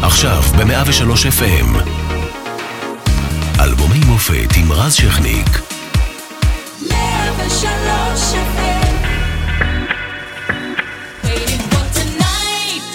עכשיו ב-103 FM. אלבומי מופת עם רז שכניק. 103 FM. Waiting for tonight.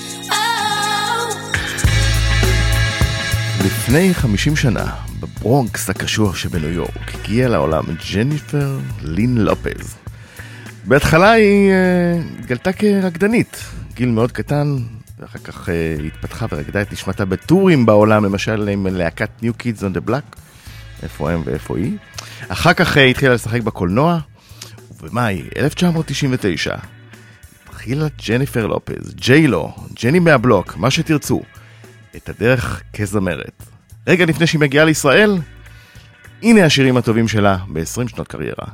לפני 50 שנה, בברונקס הקשוח שבניו יורק, הגיעה לעולם ג'ניפר לין לופז. בהתחלה היא גלתה כרקדנית, גיל מאוד קטן, ואחר כך התפתחה ורקדה את נשמתה בטורים בעולם, למשל עם להקת New Kids on the Block, איפה הם ואיפה היא. אחר כך התחילה לשחק בקולנוע, ובמאי 1999 התחילה ג'ניפר לופז, ג'יילו, ג'ני מהבלוק, מה שתרצו, את הדרך כזמרת. רגע לפני שהיא מגיעה לישראל, הנה השירים הטובים שלה ב-20 שנות קריירה.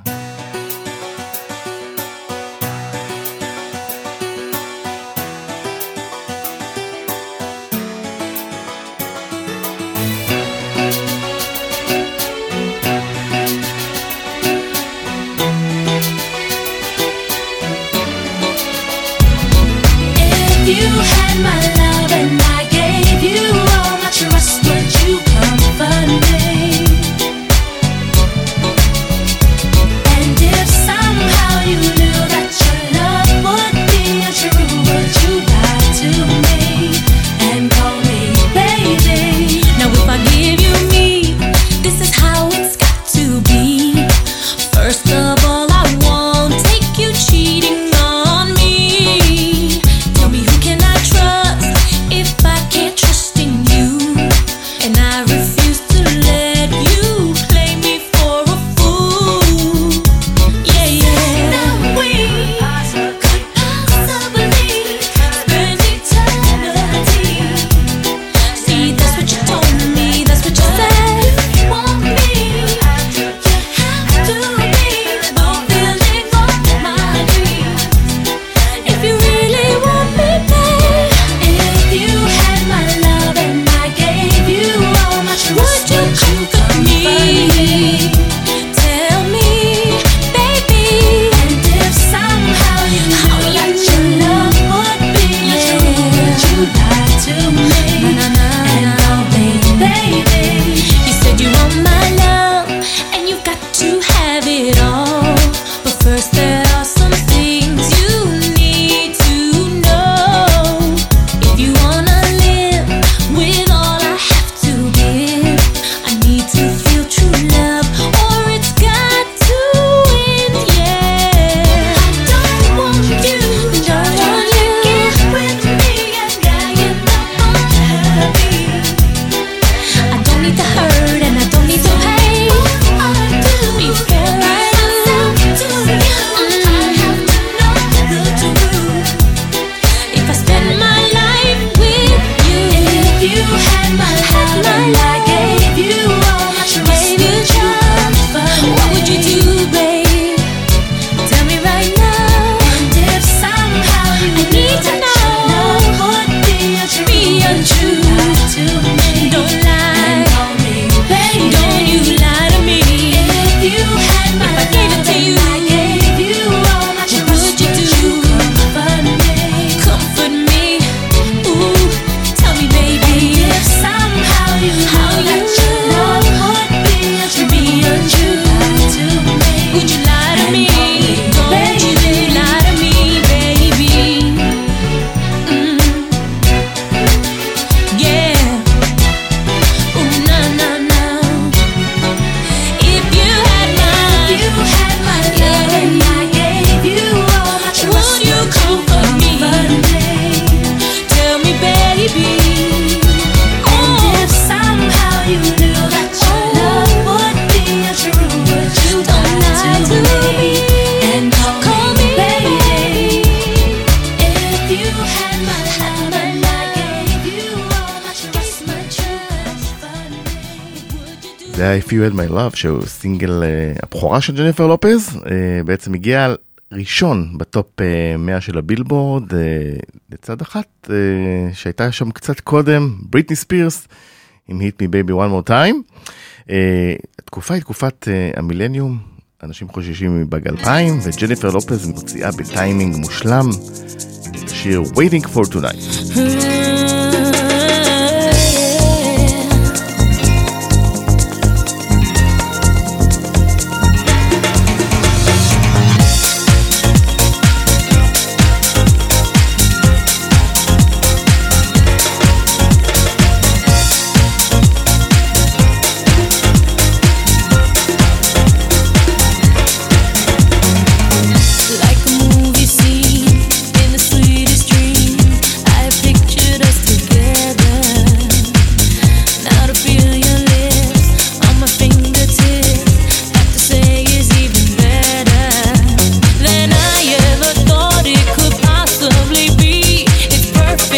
If You Had My Love, שהוא סינגל הבכורה של ג'ניפר לופז, בעצם הגיע ראשון בטופ 100 של הבילבורד, לצד אחת שהייתה שם קצת קודם, בריטני ספירס, עם Hit Me Baby One More Time. התקופה היא תקופת המילניום, אנשים חוששים מבג 2000, וג'ניפר לופז מוציאה בטיימינג מושלם את השיר Waiting for Tonight.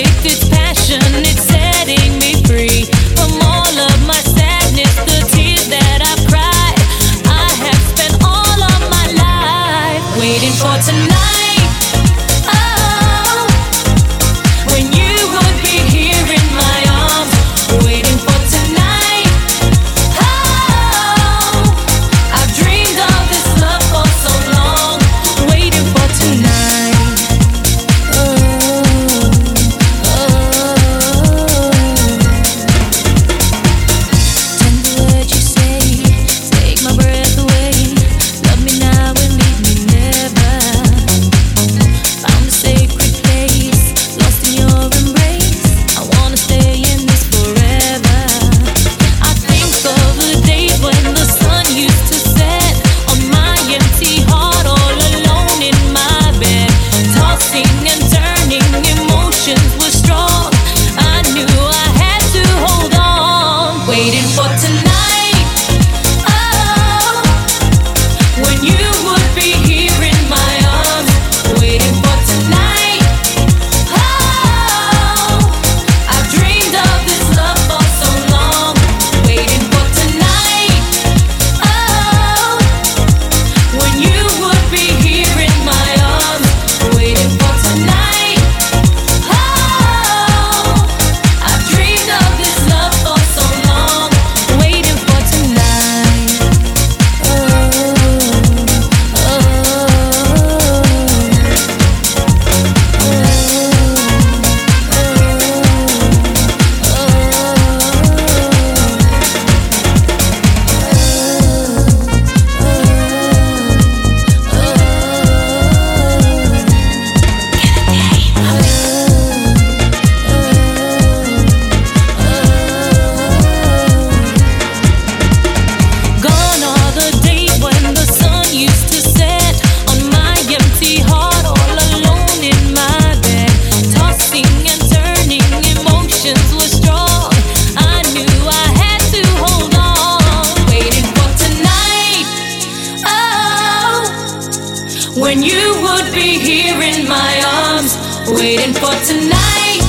with its passion, it's setting me free from all of my sadness, the tears that I've cried. I have spent all of my life waiting for tonight. Oh, when you would be here in my arms, waiting for tonight. Oh, I've dreamed of this love for so long, waiting for tonight. Tender words you say, take my breath away. Love me now and leave me never. Found a sacred place, lost in your embrace. I wanna stay in this forever. I think of the days when the sun used to set on my empty heart, all alone in my bed, tossing and turning, emotions were strong. I knew I had to hold on, waiting for tonight. Oh, when you would be here in my arms, waiting for tonight. Oh, I've dreamed of this love for so long, waiting for tonight. Oh, when you would be here in my arms, waiting for tonight. Oh, I've dreamed of this love for so long, waiting for tonight. Gone are the days when the sun used to set on my empty heart, all alone in my bed, tossing and turning, emotions were strong. I knew I had to hold on, waiting for tonight. Oh, when you would be here in my arms, waiting for tonight.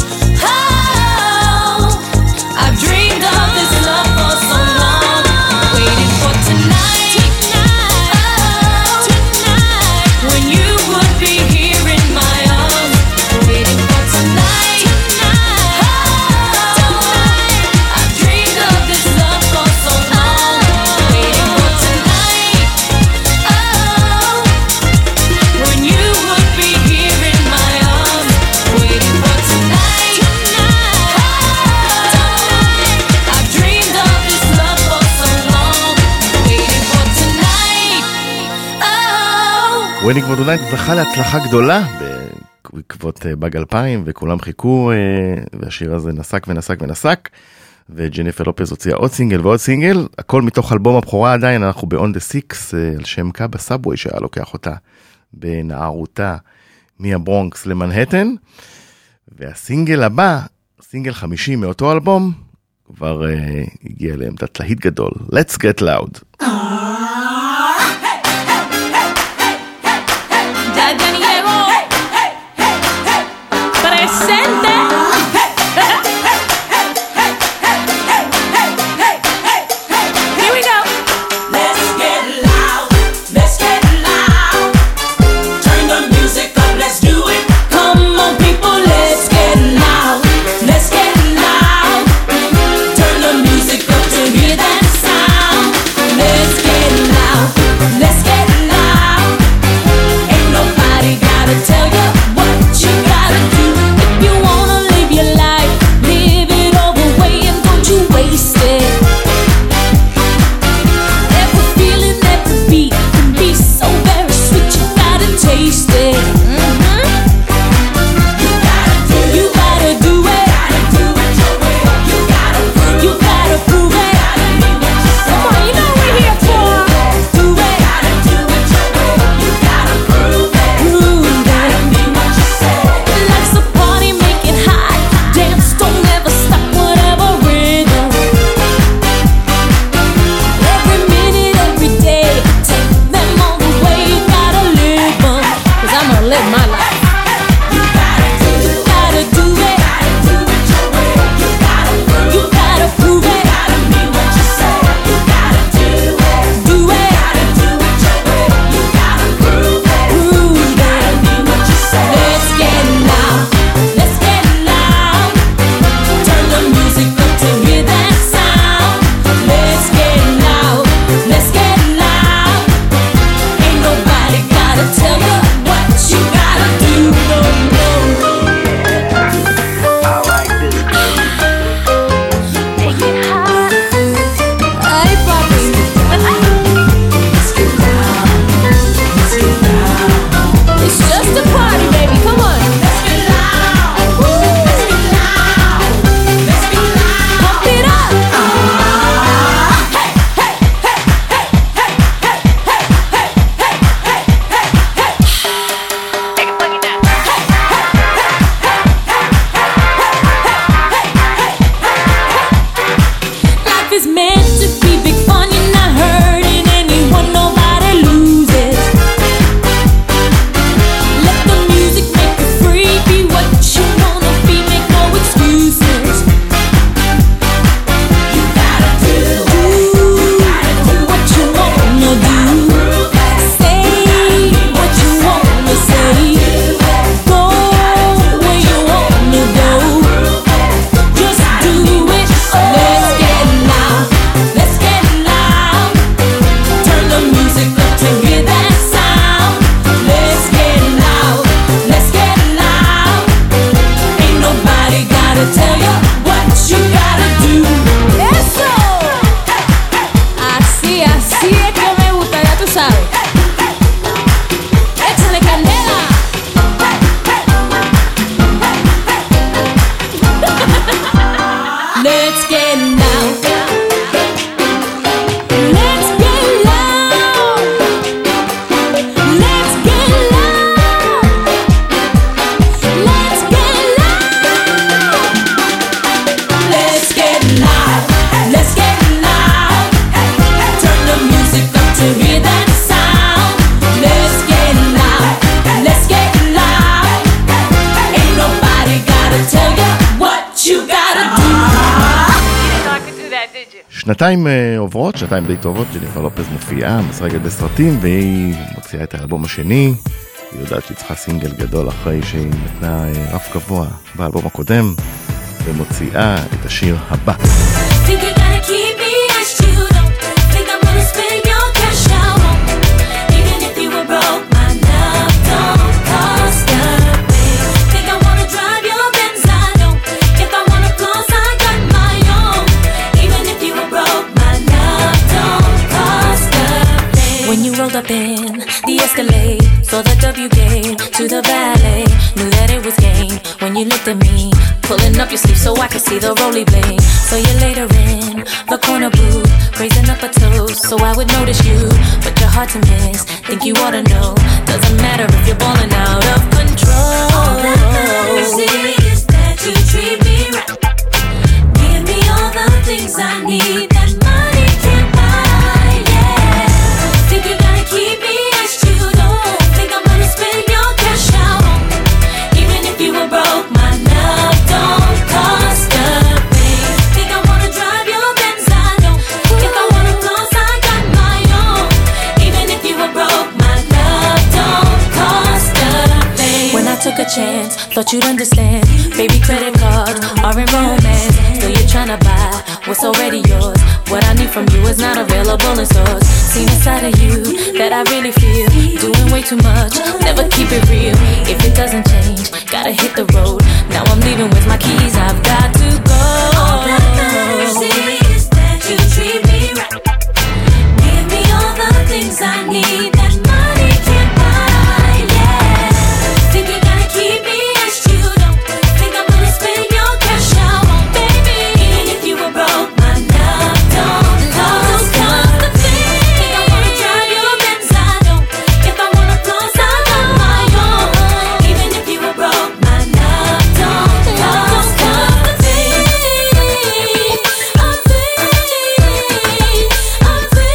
Oh, I've dreamed of this love for so long, waiting for tonight. Oh, when you would be here in my arms, waiting for tonight. Oh, I've dreamed of this love for so long, waiting for tonight. Oh, when you would be here in my arms, waiting for tonight. I've dreamed of this love for so long, waiting for tonight. Oh. ווינינג פור טונייט זכה להצלחה גדולה בעקבות באג 2000, וכולם חיכו, והשיר הזה נסק ונסק ונסק, וג'ניפר לופז הוציאה עוד סינגל ועוד סינגל, הכל מתוך אלבום הבכורה. עדיין אנחנו ב-On the Six, על שם קאבה סאבווי שהיה לוקח אותה בנערותה מהברונקס למנהטן. והסינגל הבא, סינגל 50 מאותו אלבום, כבר הגיע לעמדת להיט גדול, Let's Get Loud. Ya llegó, presente. Here we go. Let's get loud, let's get loud. Turn the music up, let's do it. Come on, people, let's get loud. Let's get loud. Turn the music up to hear that sound. Let's get שנתיים עוברות, שנתיים די טובות, ג'ניפר לופז מופיעה, משחקת בסרטים, והיא מוציאה את האלבום השני. היא יודעת שהיא צריכה סינגל גדול אחרי שהיא נתנה רף גבוה באלבום הקודם, ומוציאה את השיר הבא. When you rolled up in the Escalade, saw the W gate to the ballet, knew that it was game. When you looked at me, pulling up your sleeve so I could see the rolly blade. So you later in the corner booth, raising up a toast so I would notice you, but you're hard to miss. Think you ought to know, doesn't matter if you're balling out of control. All that matters is that you treat me right. Give me all the things I need that money can't buy. Yeah, think you gotta keep me as you don't think I'm gonna spend your cash out on me. Even if you were broke, my love don't cost a thing. Think I wanna drive your Benz, I don't. If I wanna floss, I got my own. Even if you were broke, my love don't cost a thing. When I took a chance, thought you'd understand. Baby, credit cards are in romance. Still you're tryna buy what's already yours. What I need from you is not available in stores. Seen a side of you that I really feel. Doing way too much, never keep it real. If it doesn't change, gotta hit the road. Now I'm leaving with my keys, I've got to go. All that matters is that you treat me right. Give me all the things I need that money can't buy. Yeah, think you gotta keep me as you don't think I'm gonna spend your cash out on baby. Even if you were broke, my love don't cost a thing. Think I wanna drive your Benz, I don't. If I wanna floss, I got my own. Even if you were broke, my love don't cost a thing. A thing, a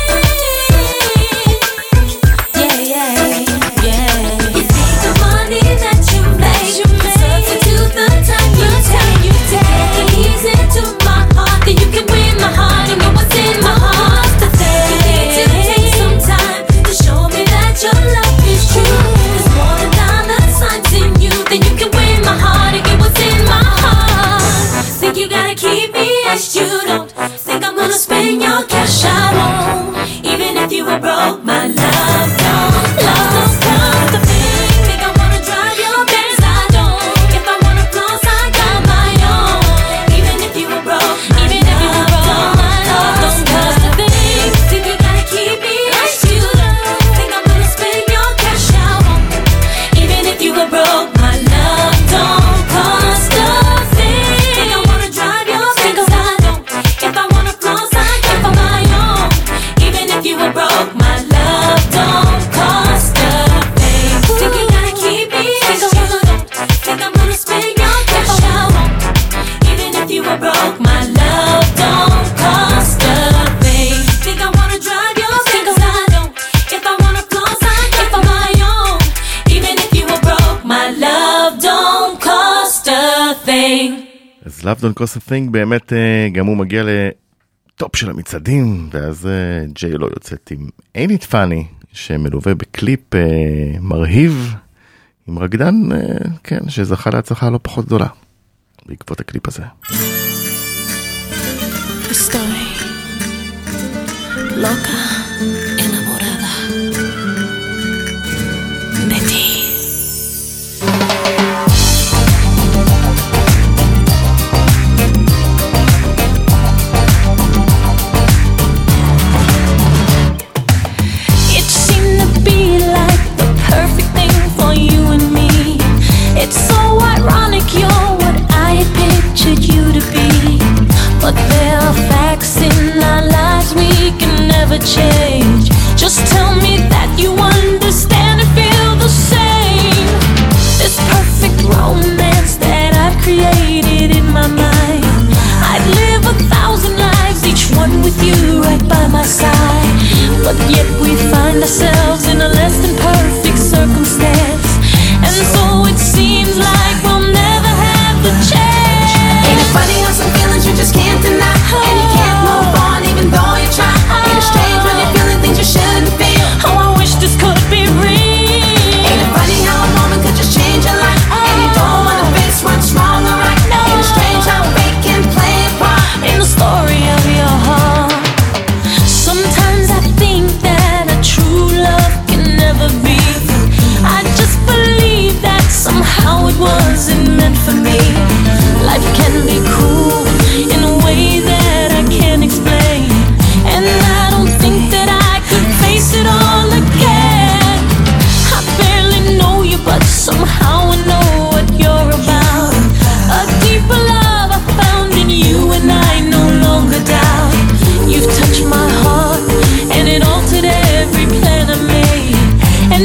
thing. Yeah, yeah, yeah. You think the money that you make substitute the time you take the keys into my heart, then you can win my heart and know what's in my heart. The thing you need to take some time to show me that your love is true. There's more than dollar signs in you, then you can win my heart and get what's in my heart. Think you gotta keep me as you don't think I'm gonna spend your cash I won't. Even if you were broke, my love don't cost a thing. Think I wanna drive your Benz, I don't. If I wanna floss, I got my own. Even if you were broke, my love don't cost a thing. Think you gotta keep me as you don't think I'm gonna spend your cash I won't. Even if you were broke, my love don't cost a thing. Think I wanna drive your Benz, I don't. If I wanna floss, I got my own. Even if you were broke, my love don't cost a thing. Think you gotta keep me as you don't think I'm gonna spend your cash I won't. Even if you were broke, my love don't cost a thing. Think I wanna drive your Benz, I don't. If I wanna floss, I got my own. Even if you were broke, my love don't cost a thing. אז Love Don't Cost a Thing באמת גם הוא מגיע לטופ של המצעדים, ואז ג'יי לא יוצאת עם Ain't It Funny, שמלווה בקליפ מרהיב, עם רקדן, כן, שזכה להצלחה לא פחות גדולה, בעקבות הקליפ הזה. Estoy loca, enamorada de ti. It seemed to be like the perfect thing for you and me. It's so ironic you're what I had pictured you to be. But there are facts in our lives we can never change. Just tell me that you understand and feel the same. This perfect romance that I've created in my mind, I'd live 1,000 lives, each one with you right by my side. But yet we find ourselves in a less than perfect circumstance, and so it seems like we'll never have the chance. Ain't it funny how some feelings you just can't deny, and you can't move on even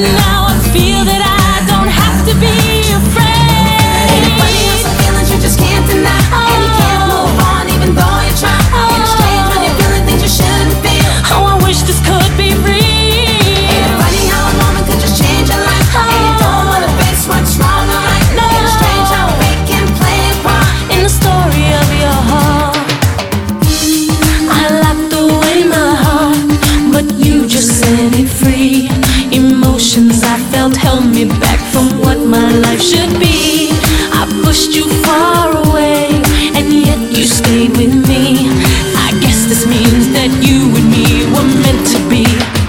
now I feel that I don't have to be afraid. Ain't it funny how some feelings you just can't deny, and you can't move on even though you try. Ain't it strange when you're feeling things you shouldn't feel? Oh, I wish this could be real. Ain't it funny how a moment could just change your life, and you don't wanna face what's wrong or right? No. Ain't it strange how we can play a part In the story of your heart, I locked away my heart, but you just set it free. Emotions I felt held me back from what my life should be. I pushed you far away, and yet you stayed with me. I guess this means that you and me were meant to be.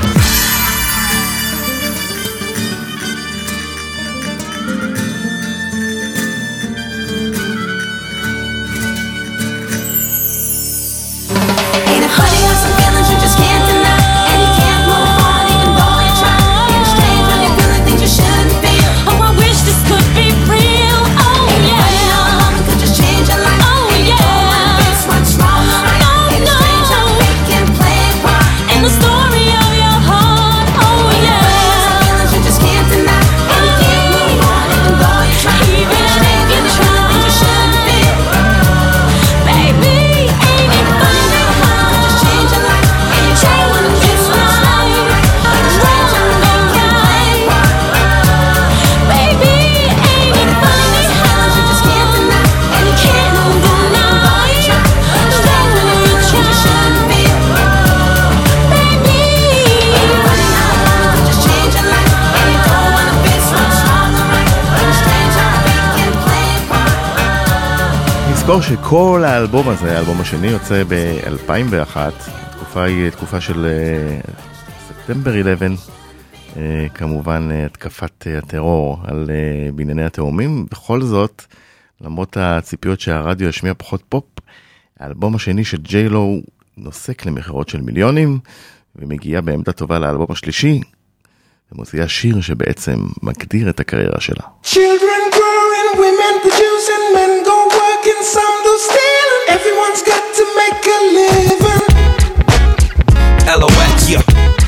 Ain't it funny how some feelings you just can't deny, and you can't move on even though you try? Ain't it strange when you're feeling things you shouldn't feel? Oh, I wish this could be real. Oh, Ain't it funny how a yeah. moment could just change your life? Oh, and you don't wanna yeah. face what's wrong or right? No, Ain't it strange how no. we can play a part In the story of your heart. Oh, yeah. Some feelings you just can't deny, and you can't move on even though you try. Even Ain't it strange if when you you're feeling things you shouldn't feel? Baby, ain't it funny how Just change your life, and you don't wanna face what's wrong or right? Ain't it strange how we can play a part? Baby, ain't it funny how You just can't deny, and you can't move on even though you try. Ain't it strange when you're feeling things you shouldn't feel? baby? Ain't it funny how a moment could just change your life, and you don't wanna face what's wrong or right? Ain't it strange how we can play a part? נזכור שכל האלבום הזה, האלבום השני, יוצא ב-2001. התקופה היא תקופה של ספטמבר 11, כמובן התקפת הטרור על בענייני התאומים. בכל זאת, למרות הציפיות שהרדיו ישמיע פחות פופ, האלבום השני של ג'יי-לו נוסק למחירות של מיליונים, ומגיעה בעמדה טובה לאלבום השלישי, ומוציאה שיר שבעצם מגדיר את הקריירה שלה. Children growing, women producing, men go working, some do stealing. Everyone's got to make a living. LOX, yeah.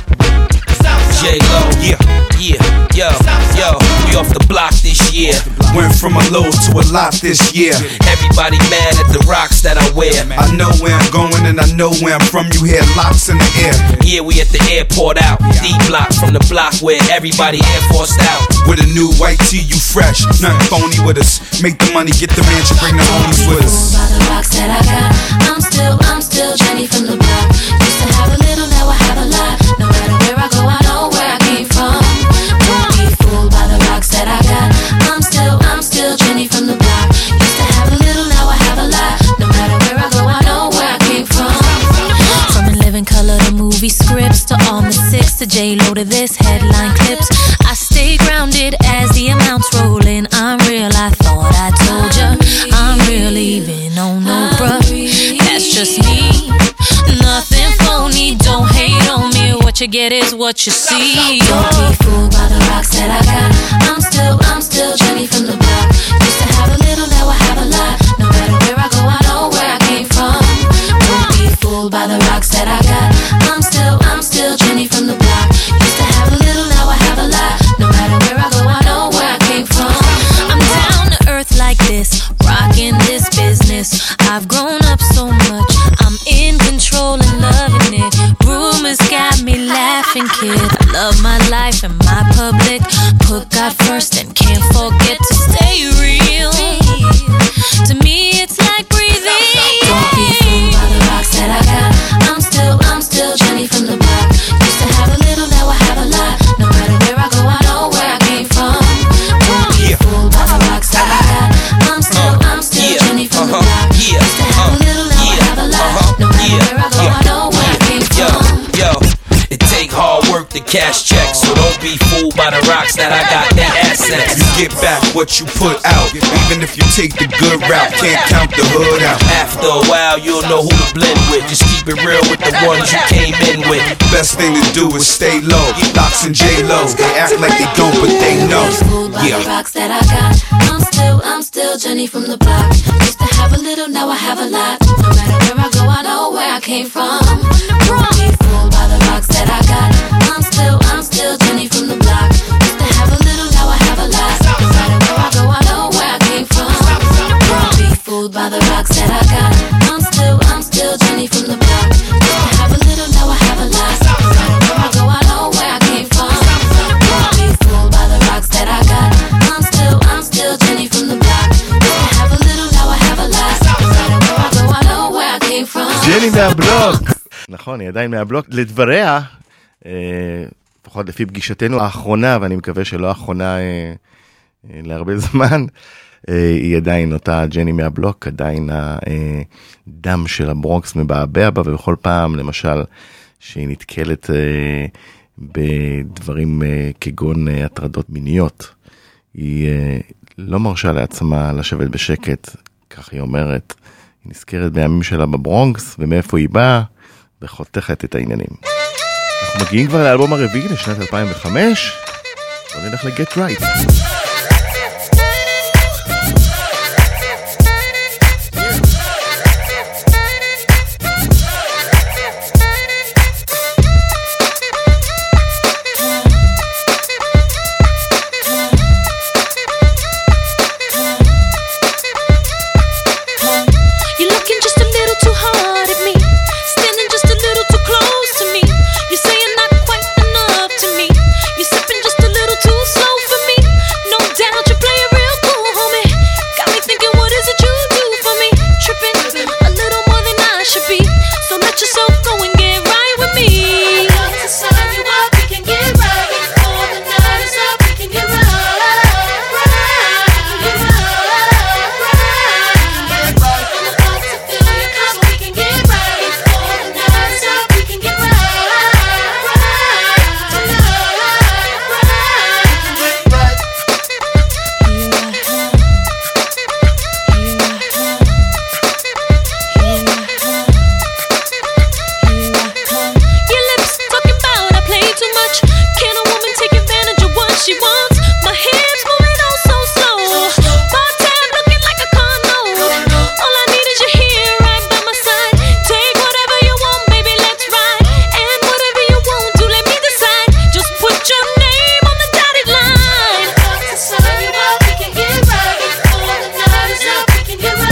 J-Lo, yeah, yo, we off the block this year. Went from a low to a lot this year. Everybody mad at the rocks that I wear. I know where I'm going and I know where I'm from. You hear locks in the air. Yeah, we at the airport out. D-block from the block where everybody Air Forced out. With a new white tee, you fresh. Nothing phony with us. Make the money, get the mansion, bring the homies with us. By the rocks that I got, I'm still Jenny from the block. Used to have a little, now I have a lot. No matter where I go, I know where I came from. Don't be fooled by the rocks that I got. I'm still Jenny from the block. Used to have a little, now I have a lot. No matter where I go, I know where I came from. From In Living Color to movie scripts to all the six to J-Lo to this headline clips. I stay grounded as the amounts roll in. I'm real, I thought I told ya. I'm real even on no bruh. That's just me. Nothing phony, don't hate on me. What you get is what you see. Don't be fooled by the rocks that I got. I'm still Jenny from the block. Used to have a little, now I have a lot. No matter where I go, I know where I came from. Don't be fooled by the rocks that I got. I'm still Jenny from the block. Used to have a little, now I have a lot. No matter where I go, I know where I came from. I'm down to earth like this, rocking this business. I've grown up so much, I'm in control and loving it. Rumors got me laughing, kid. I love my life and my public. Put God first and can't forget to stay real. To me, it's like breathing. Don't be fooled by the rocks that I got. I'm still Jenny from the block. Used to have a little, now I have a lot. No matter where I go, I know where I came from. Don't be fooled by the rocks that I got. I'm still Jenny from the block. Used to have a little, now I have a lot. No matter where I go, I know where I came from. Yo, it take hard work to cash checks, so don't be fooled by the rocks that I got. That assets. You get back what you put out. Even if you take the good route, can't count the hood out. After a while, you'll know who to blend with. Just keep it real with the ones you came in with. Best thing to do is stay low. Locks and J-Lo, they act like they don't, but they know. Yeah. The rocks that I got. I'm still Jenny from the block. Used to have a little, now I have a lot. No matter where I go, I know where I came from. Don't be fooled by the rocks that I got. I'm still Jenny from the block. fooled by the rocks that I got. I'm still Jenny from the block. Used to have a little, now I have a lot. No matter where I go, I know where I came from. Don't be fooled by the rocks that I got. I'm still Jenny from the block. Used to have a little, now I have a lot. No matter where I go, I know where I came from. ג'ני מהבלוק. נכון, היא עדיין מהבלוק. לדבריה, לפחות לפי פגישתנו האחרונה, ואני מקווה שלא האחרונה להרבה זמן, היא עדיין אותה ג'ני מהבלוק, עדיין הדם של הברונקס מבעבע בה, ובכל פעם, למשל, שהיא נתקלת בדברים כגון הטרדות מיניות, היא לא מרשה לעצמה לשבת בשקט, כך היא אומרת, היא נזכרת בימים שלה בברונקס, ומאיפה היא באה, וחותכת את העניינים. אנחנו מגיעים כבר לאלבום הרביעי לשנת 2005, בוא נלך ל-Get Right. You're looking just a little too hard at me, standing just a little too close to me. You're saying not quite enough to me. You're sipping just a little too slow for me. No doubt you play it real cool, homie. Got me thinking, what is it you do for me? Tripping a little more than I should be. So let yourself go and get right with me. I'm about to sign you up, we can get right. Before the night is up, we can get right. Your lips talking about I play too much. Can a woman take advantage of what she wants? My hips moving on so slow. Bar tab looking like a condo. All I need is you here right by my side. Take whatever you want, baby, let's ride. And whatever you won't do, let me decide. Just put your name on the dotted line. I'm about to sign you up, we can get right. Before the night is up, we can get right.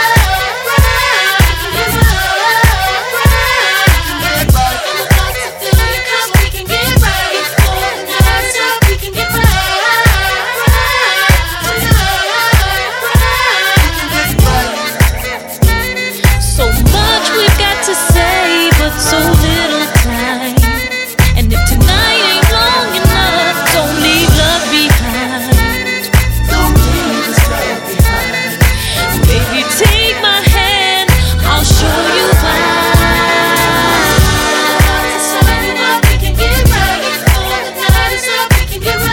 So much we've got to say, but so little time. And if tonight ain't long enough, don't leave love behind. Baby, take my hand, I'll show you why. Sign you up, we can get right. Before the night is up, we can get right.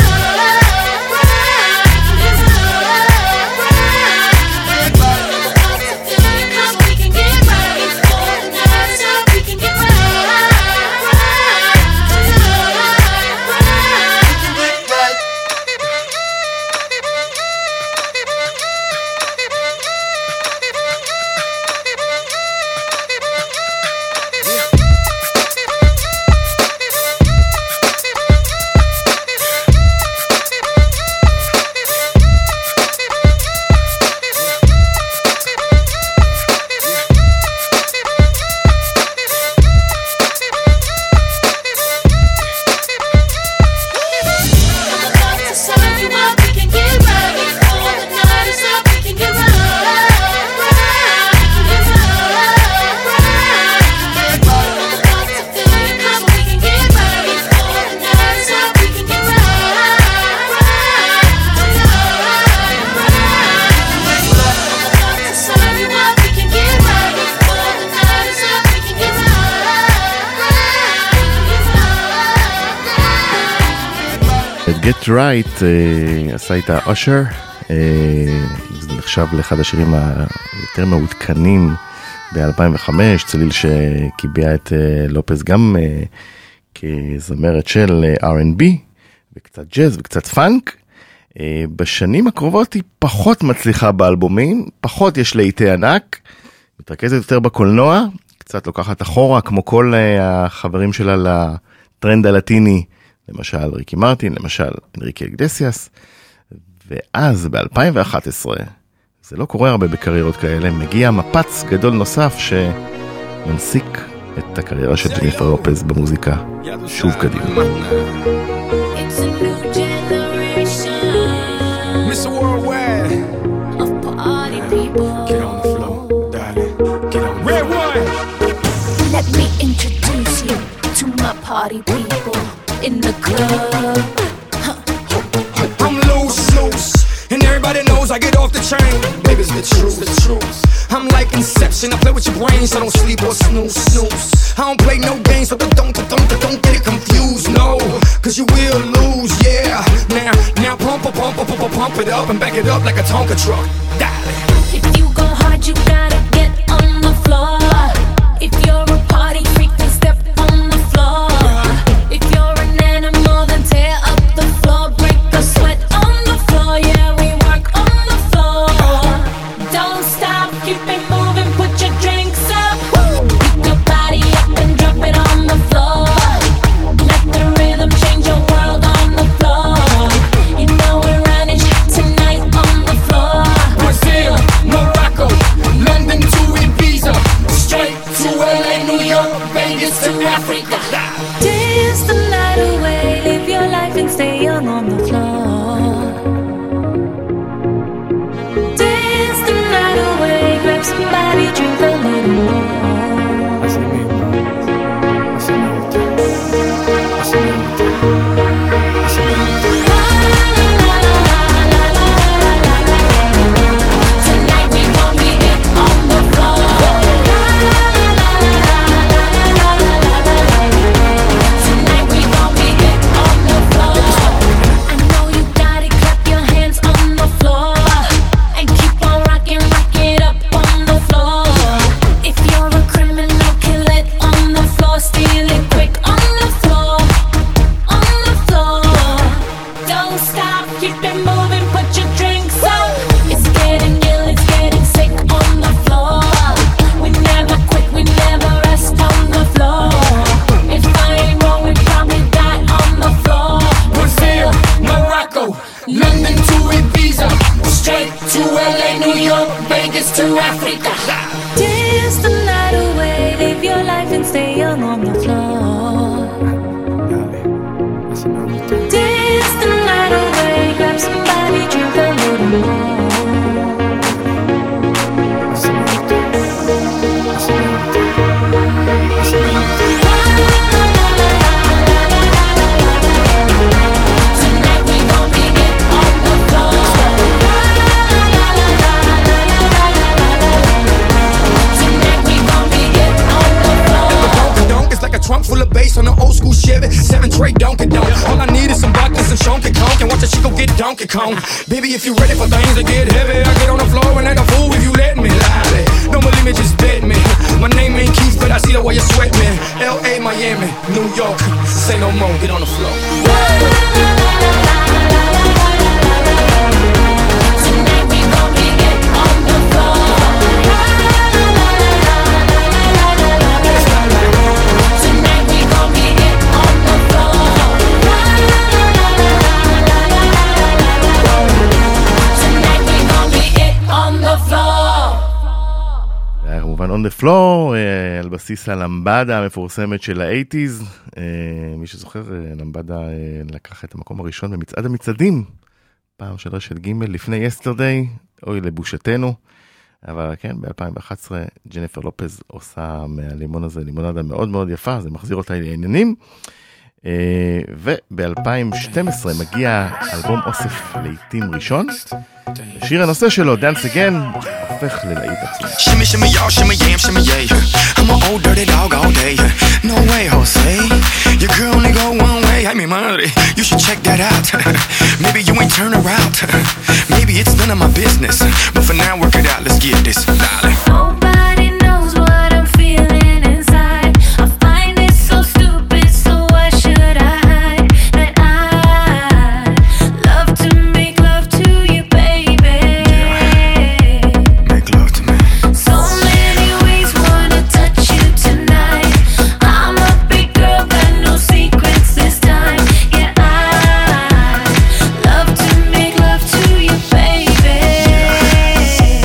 Get Right עשה איתה אושר, זה נחשב לאחד השירים היותר מעודכנים ב-2005, צליל שקיבע את לופז גם כזמרת של R&B וקצת ג'אז וקצת פאנק. בשנים הקרובות היא פחות מצליחה באלבומים, פחות יש להיטי ענק, מתרכזת יותר בקולנוע, קצת לוקחת אחורה כמו כל החברים שלה לטרנד הלטיני, למשל ריקי מרטין, למשל אנריקי אגדסיאס, ואז ב-2011 זה לא קורה הרבה בקריירות כאלה, מגיע מפץ גדול נוסף שמנסיק את הקריירה של ג'ניפר לופז במוזיקה שוב קדימה. It's a new generation Mr. Worldwide, of party people. get on the floor, darling, get on the Red one. Let me introduce you to my party people in the club. I'm loose, and everybody knows I get off the train. Baby, it's the truth. I'm like Inception, I play with your brain, so don't sleep or snooze. I don't play no games, so don't get it confused, no, cause you will lose, yeah. Now pump it up and back it up like a Tonka truck. Darling. If you go hard, you gotta get on the floor. If you're a party freak, then step on the floor. If you're an animal, then tear up the floor. Break the sweat on the floor, yeah, we work on the floor. Don't stop, keep it moving, put your drinks up. Pick your body up and drop it on the floor. Let the rhythm change your world on the floor. You know we're running tonight on the floor. Brazil, Morocco, London to Ibiza, straight to LA, New York, Vegas to Africa. Dance the night away, live your life and stay young on the floor. Dance the night away, grab somebody, drink a little more. Tonight we gon' be it on the floor. Tonight we gon' be it on the floor. I know you got it, clap your hands on the floor and keep on rocking, rock it up on the floor. If you're a criminal, kill it on the floor, steal it quick on the floor, on the floor. Don't stop, keep it moving, put your drinks up. It's getting ill, it's getting sick on the floor. We never quit, we never rest on the floor. If I ain't wrong, we probably die on the floor. Brazil, Morocco, London to Ibiza, straight to LA, New York, Vegas to Africa. Dance the night away, live your life and stay young on the floor. Dance the night away, grab somebody, drink a little more. Tonight we gon' be it on the floor. Tonight we gon' be it on the floor. Donk is like a trunk full of bass on an old school Chevy 7 tray Donkey Donk. All I need is some vodka and some Shonky Conk, and watch a chico get Donkey Kong. Baby, if you ready for things to get heavy, I get on the floor and act a fool if you let me. Lolly, don't believe me, just bet me. My name ain't Keith, but I see the way you sweat me. L.A., Miami, New York, say no more, get on the floor. Tonight we gon' be it on the floor. Tonight we gon' be it on the floor. Tonight we gon' be it on the floor. זה היה כמובן on the floor, על בסיס הלמבדה המפורסמת של ה-80s. מי שזוכר, למבדה לקח את המקום הראשון במצעד המצעדים, פעם של רשת ג' לפני יסטרדיי, אוי לבושתנו. אבל כן, ב-2011 ג'ניפר לופז עושה מהלימון הזה לימונדה מאוד מאוד יפה, זה מחזיר אותה לעניינים. וב-2012 מגיע אלבום אוסף לעיתים ראשון. שיר הנושא שלו, Dance Again, הופך ללהיט עצמי. Shimmy, shimmy, y'all, shimmy, yam, shimmy, yeah. I'm an old dirty dog all day. No way, Jose. Your girl only go one way. I mean, money. You should check that out. Maybe you ain't turn around. Maybe it's none of my business. But for now, work it out. Let's get this, darling. Nobody knows what I'm feeling inside. I find it so stupid, so why should I hide? That I love to make love to you, baby. Make love to me. So many ways wanna touch you tonight. I'm a big girl, got no secrets this time. Yeah, I love to make love to you, baby.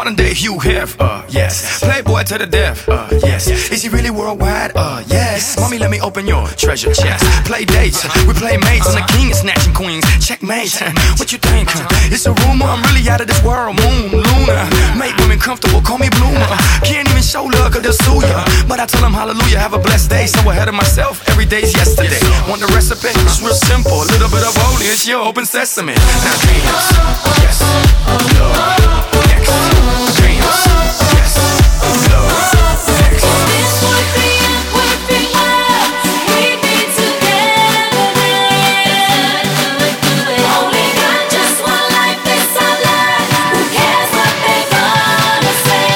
modern day Hugh Hef, yes. Playboy to the death, yes. Is he really worldwide? Yes. Mommy, let me open your treasure chest. Play dates, we play mates, and the king is snatching queens. Checkmate, what you think? It's a rumor, I'm really out of this world. Moon, Luna, make women comfortable, call me Bloomer. Can't even show love, cause they'll sue ya. But I tell them hallelujah, have a blessed day. So ahead of myself, every day's yesterday. Want the recipe? It's real simple. A little bit of holy, it's your open sesame. Now dreams, yes. Love, next. Dreams, yes. Love, next. This would be a perfect world. We'd be together then. Only got just one life, this our life. Who cares what they gonna say?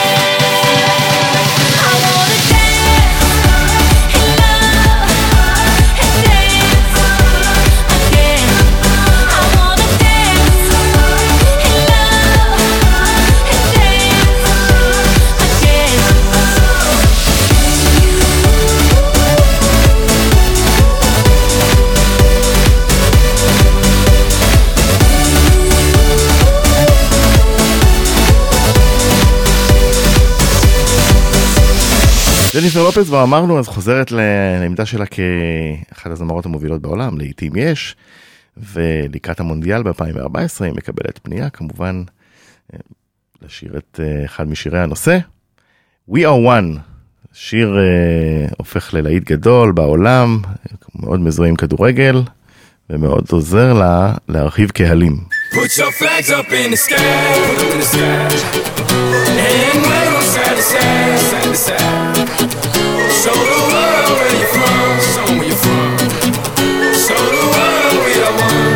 I wanna dance and love and dance again. I wanna dance and love and ג'ניפר לופז, כבר אמרנו, אז חוזרת לעמדה שלה כאחת הזמרות המובילות בעולם, לעתים יש, ולקראת המונדיאל ב-2014 היא מקבלת פנייה, כמובן, לשיר את אחד משירי הנושא. We are one, שיר הופך ללהיט גדול בעולם, מאוד מזוהה עם כדורגל, ומאוד עוזר לה להרחיב קהלים. Put your flags up in the sky, put them in the sky. And wave them side to side, side to side. Show the world where you're from, show 'em where you're from. Show the world we are one.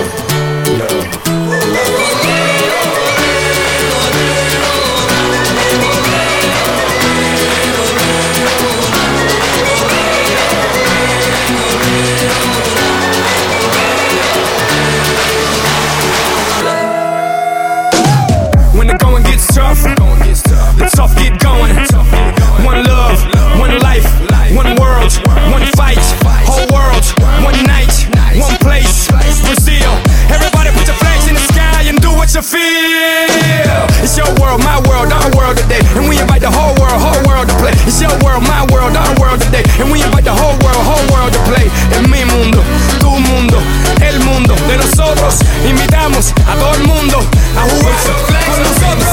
When the going gets tough, the tough get going. One love, one life, one world, one fight. Whole world, one night, one place. Brazil, everybody put your flags in the sky and do what you feel. It's your world, my world, our world today. And we invite the whole world to play. It's your world, my world, our world today. And we invite the whole world to play. En mi mundo, tu mundo, el mundo de nosotros. Invitamos a todo el mundo a jugar con nosotros.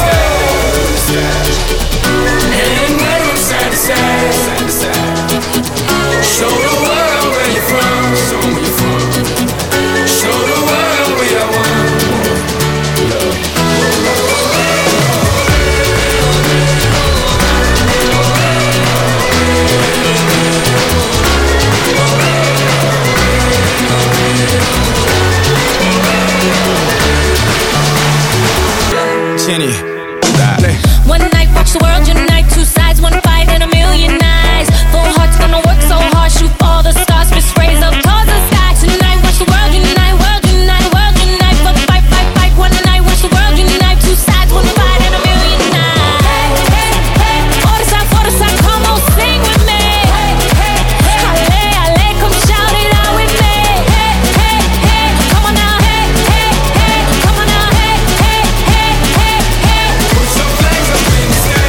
And wave them side to side, side to side. Show the world where you're from, show 'em where you're from. Show the world we are one. Jenny, dale. One night, watch the world unite. Two sides, one fight, and a million eyes. Full hearts gonna work so hard, shoot all the stars, fist raise up towards the sky. Tonight, watch the world unite, world unite, world unite. Fuck, fight, fight, fight. One night, watch the world unite. Two sides, one fight, and a million eyes. Hey, hey, hey. Order side, come on, sing with me. Halle, halle, come shout it out with me. Hey, hey, hey. Come on now, hey, hey, hey. Come on now, hey, hey, hey, hey, hey. Put your flags up in the sky.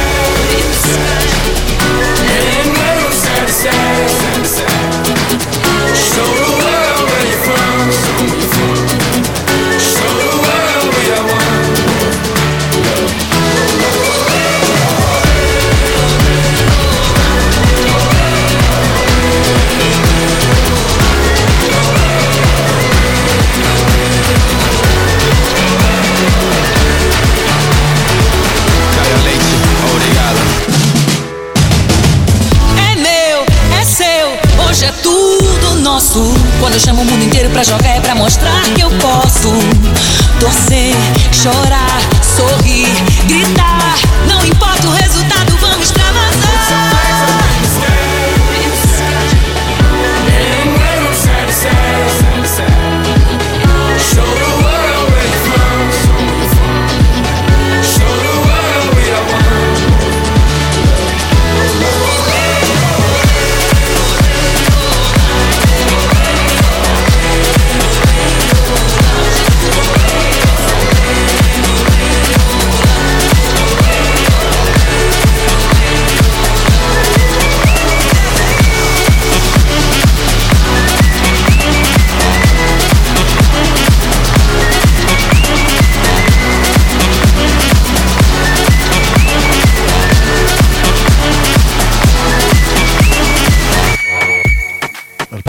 And wave them side to side, side to side. Show the world where you're from, show 'em where you're from. Show the world we are one. Caio Leite, obrigado. É meu, é seu, hoje é tudo nosso. Quando eu chamo o mundo inteiro pra jogar é pra mostrar que eu posso. Torcer, chorar, sorrir, gritar. Não importa o resultado, vamos extravasar. And wave them side to side, side to side. Show the world where you're from, show 'em where you're from. Show the world we are one.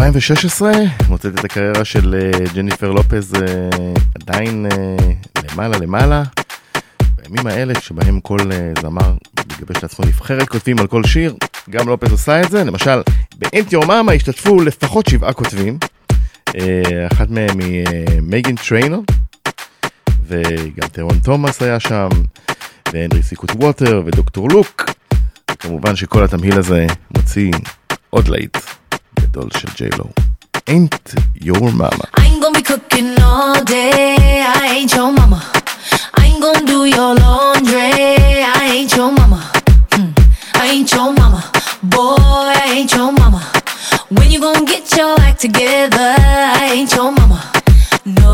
2016 מוצאת את הקריירה של ג'ניפר לופז עדיין למעלה. בימים האלה שבהם כל זמר מגבש לעצמו נבחרת כותבים על כל שיר, גם לופז עושה את זה. למשל, באנט יור מאמה השתתפו לפחות 7 כותבים, אחת מהם היא מייגן טריינר, וגם טרון תומאס היה שם, והנרי סיקוט ווטר ודוקטור לוק. וכמובן שכל התמהיל הזה מוציא עוד להיט גדול של ג'יילו. Ain't your mama. I ain't gonna be cooking all day. I ain't your mama. I ain't gonna do your laundry. I ain't your mama. I ain't your mama. Boy, I ain't your mama. When you gonna get your act together? I ain't your mama. No,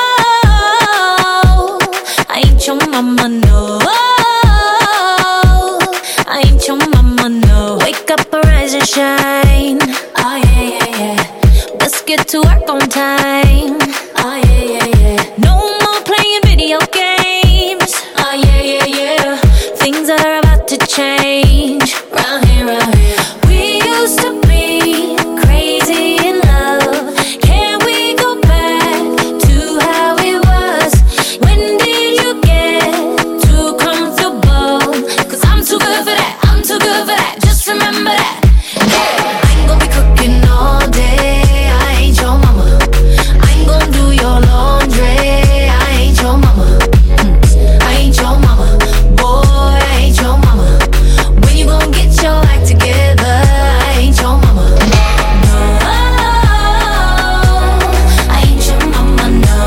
I ain't your mama. No, I ain't your mama. No, wake up, arise and shine. Oh yeah, yeah, yeah. Let's get to work on time. Oh yeah, yeah, yeah. No more playing video games. Oh yeah, yeah, yeah. Things are about to change. Round here, round here. We used to be crazy in love. Can we go back to how it was? When did you get too comfortable? 'Cause I'm too good for that. I'm too good for that. Just remember that. I ain't gonna be cooking all day. I ain't your mama. I ain't gonna do your laundry. I ain't your mama. I ain't your mama. Boy, I ain't your mama. When you gonna get your act together? I ain't your mama. No, I ain't your mama. No,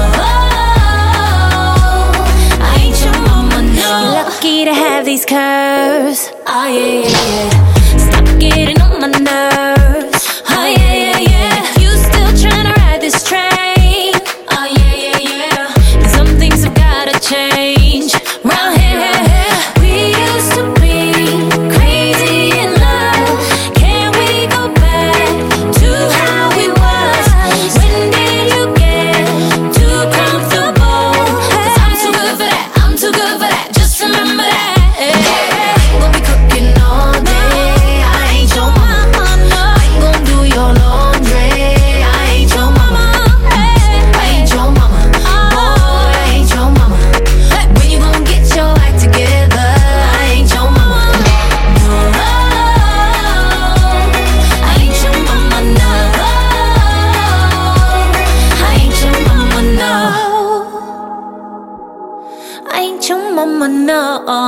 I ain't your mama. No. You're lucky to have these curves. Oh yeah, yeah, yeah. Stop getting on my nerves. Oh yeah, yeah, yeah. You still trying to ride this train? Oh yeah, yeah, yeah. Some things have gotta change. Round here, we used to be crazy in love. Can we go back to how it was? When did you get too comfortable? 'Cause I'm too good for that. I'm too good for that. Just remember that. I ain't gonna be cooking all day. I ain't your mama. I ain't gonna do your laundry. I ain't your mama. I ain't your mama. Boy, I ain't your mama. When you gonna get your act together? I ain't your mama. No, I ain't your mama. No, I ain't your mama. No, I ain't your mama. No.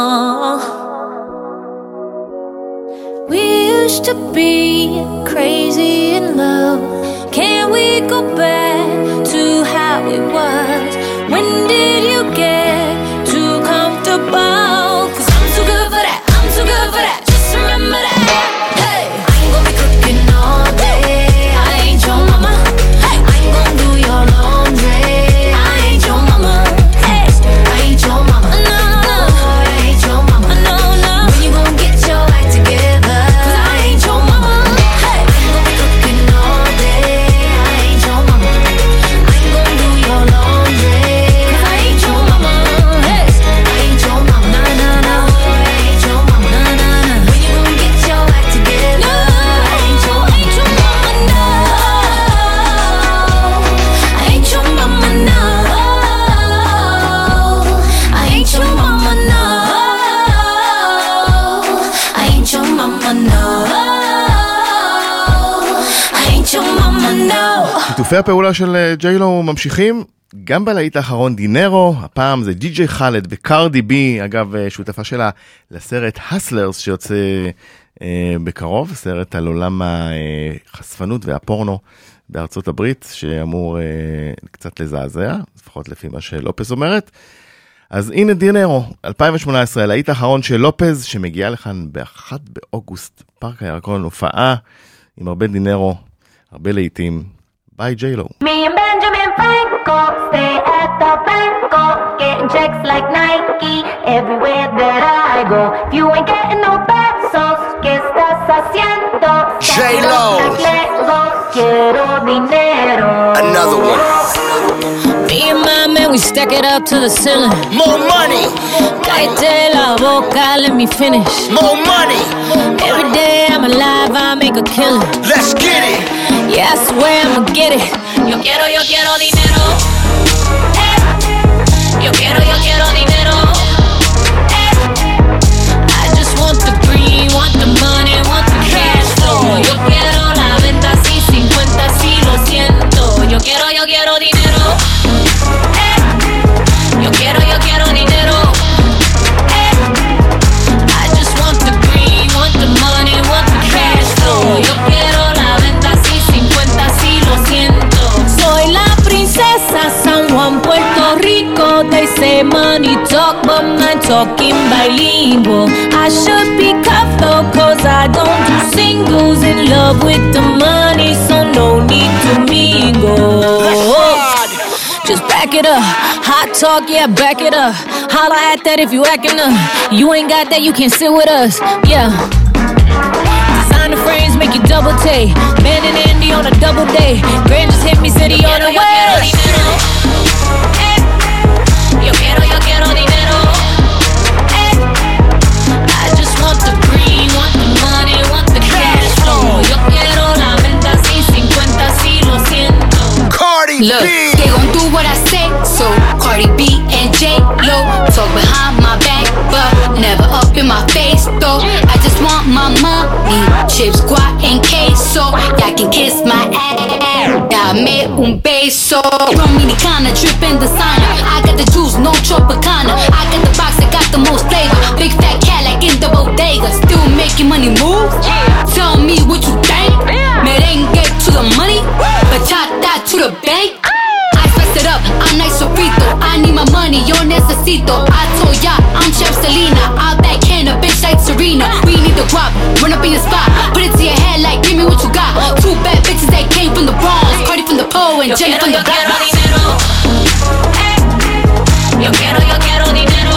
We used to be crazy in love. Can we go back to how it was? When did you get too comfortable? 'Cause I'm too good for that. I'm too good for that. Just remember that. Hey, I ain't gonna be cooking all day. I ain't your mama. I ain't gonna do your laundry. I ain't your mama. Hey, I ain't your mama. No, no, I ain't your mama. No, no. When you gonna get your act together? 'Cause I ain't your mama. Hey, I ain't gonna be cooking all day. I ain't your mama. I ain't gonna do your laundry. 'Cause I ain't your mama. Hey, I ain't your mama. No, no, no. I ain't your mama. No, no, no. When you gonna get your act together? I ain't your mama. No, I ain't your mama. No, I ain't your mama. No, I ain't your mama. No, I ain't your mama. No. שיתופי הפעולה של ג'יילו ממשיכים גם בלהיט האחרון דינרו. הפעם זה די.ג'יי חאלד וקרדי בי, אגב שותפה שלה לסרט הסלרס שיוצא בקרוב, סרט על עולם החשפנות והפורנו בארצות הברית, שאמור קצת לזעזע, לפחות לפי מה שלופז אומרת. אז הנה דינרו, 2018, הלהיט האחרון של לופז, שמגיע לכאן ב-1 באוגוסט, פארק הירקון, הופעה עם הרבה דינרו, הרבה להיטים. ביי ג'יילו. Me and Benjamin Franco stay at the Banco, getting checks like Nike everywhere that I go. If you ain't getting no pesos, ¿qué estás haciendo? J-Lo. Quiero dinero. Another one. Me and my man, we stack it up to the ceiling. More money. Cállate la boca, let me finish. More money. Every day I'm alive, I make a killing. Let's get it. Yeah, that's where I'ma get it. Yo quiero dinero. Yo quiero dinero. I just want the green, want the money, want the cash flow. Yo quiero la venta así, 50 sí, lo siento. Yo quiero dinero. Yo quiero dinero. I just want the green, want the money, want the cash flow. Yo quiero la venta así, 50 sí, lo siento. Soy la princesa San Juan, Puerto Rico. They say money talk, but my talking bilingual. I should be careful, cause I don't do singles. In love with the money, so no need to mingle. Just back it up, hot talk, yeah, back it up. Holla at that if you acting up. You ain't got that, you can't sit with us, yeah. Designer frames make you double take. Man and Andy on a double day. Grand just hit me, city on the way. Yo quiero dinero. I just want the green, want the money, want the cash flow. Yo quiero la venta así, 50 sí, lo siento. Cardi Look, B. they gon' do what I say, so Cardi B and J-Lo talk behind my back, but never up in my face, though. I just want my money, chips, guac, and queso. Y'all can kiss my ass, dame un beso. Dominicana, drippin' designer. I got the juice, no Tropicana. I got the box that got the most flavor. Big fat cat like in the bodega. Still making money move? Tell me what you think. Merengue to the money, bachata to the bank. I spice it up, I'm nice sofrito. I need my money, yo necesito. I told ya, I'm Chef Selena. I'll backhand a bitch like Serena. We need the guap, run up in your spot. Put it to your head like, give me what you got. Two bad bitches that came from the Bronx. Cardi from the pole and Jenny from the block. Yo quiero dinero.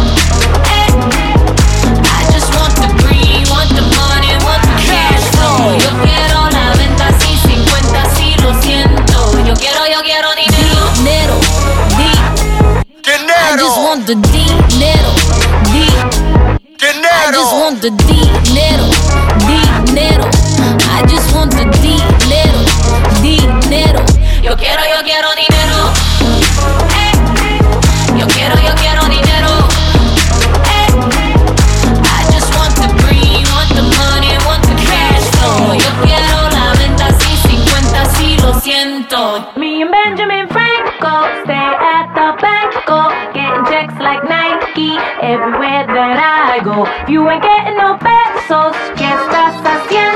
I just want the green, want the money, want the cash flow. Yo quiero la venta así, 50 sí, lo siento. Yo quiero dinero. I just want the dinero. I just want the dinero. I just want the dinero. Yo quiero dinero. Yo quiero dinero. I just want the green, want the money, want the cash flow. Yo quiero la venta así, 50 sí, lo siento. Me and Benjamin Franco stay at the banco, getting checks like Nike everywhere that I go. If you ain't getting no pesos, ¿qué estás haciendo?